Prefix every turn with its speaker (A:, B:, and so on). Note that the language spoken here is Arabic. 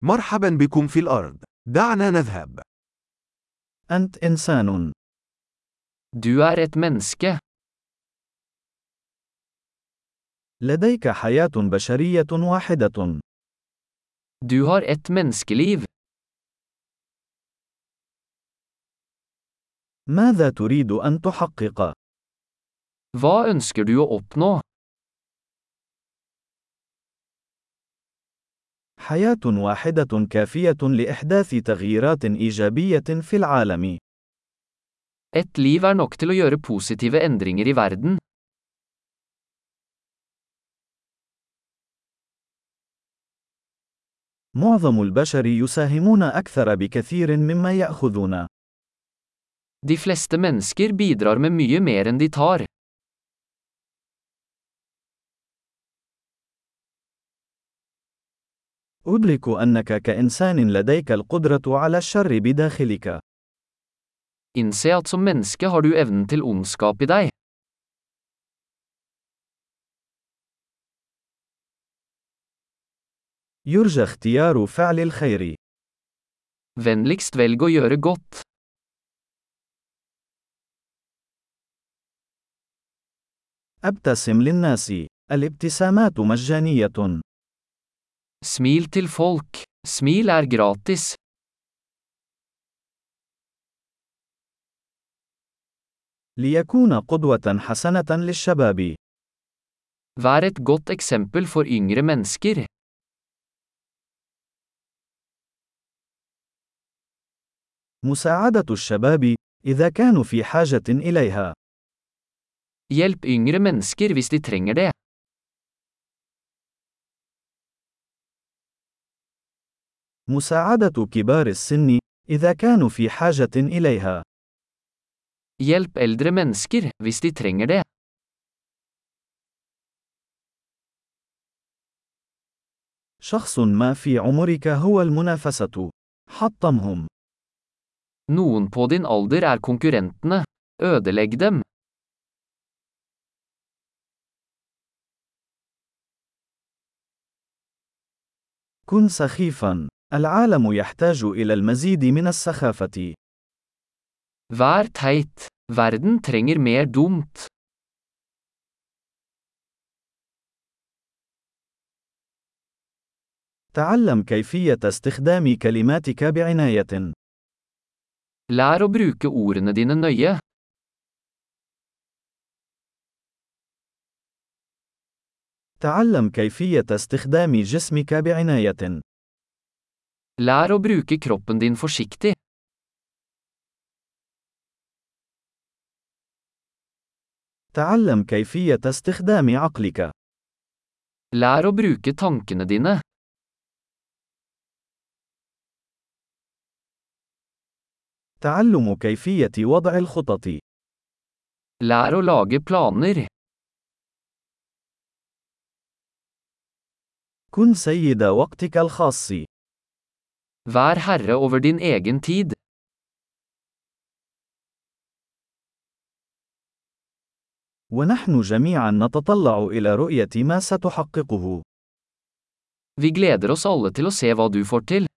A: مرحبا بكم في الأرض. دعنا نذهب.
B: أنت إنسان.
C: Du er et menneske.
B: لديك حياة بشرية واحدة.
C: Du har et menneskeliv.
B: ماذا تريد أن تحقق؟
C: Hva ønsker du å oppnå?
B: حياة واحدة كافية لإحداث تغييرات إيجابية في العالم.
C: Et liv er nok til å gjøre positive endringer i verden.
B: معظم البشر يساهمون أكثر بكثير مما يأخذون.
C: De fleste mennesker bidrar med mye mer enn de tar.
B: أدرك أنك كإنسان لديك القدرة على الشر بداخلك.
C: Innse at som menneske har du evnen til ondskap i deg.
B: يرجى اختيار فعل الخير.
C: Vennligst velg å gjøre godt.
B: أبتسم للناس. الابتسامات مجانية.
C: Smil til folk. Smil er gratis.
B: ليكون قدوة حسنة للشباب.
C: Vær et godt eksempel for yngre mennesker.
B: مساعدة الشباب إذا كانوا في حاجة إليها.
C: Hjelp yngre mennesker hvis de trenger det.
B: مساعدة كبار السن إذا كانوا في حاجة إليها.
C: Hjelp eldre mennesker hvis de trenger det.
B: شخص ما في عمرك هو المنافسة. حطمهم.
C: Noen på din alder er konkurrentene. Ødelegg dem.
B: كن سخيفا. العالم يحتاج إلى المزيد من السخافة.
C: Vær teit. Verden trenger mer dumt.
B: تعلم كيفية استخدام كلماتك بعناية.
C: Lær å bruke ordene dine nøye.
B: تعلم كيفية استخدام جسمك بعناية.
C: Lær å bruke kroppen din forsiktig.
B: تعلم كيفية استخدام عقلك.
C: Lær å bruke tankene dine.
B: تعلم كيفية وضع الخطط.
C: Lær å lage planer.
B: كن سيد وقتك الخاص.
C: Vær herre over din egen tid.
B: ونحن جميعا نتطلع إلى رؤية ما ستحققه.
C: Vi gleder oss alle til å se hva du får til.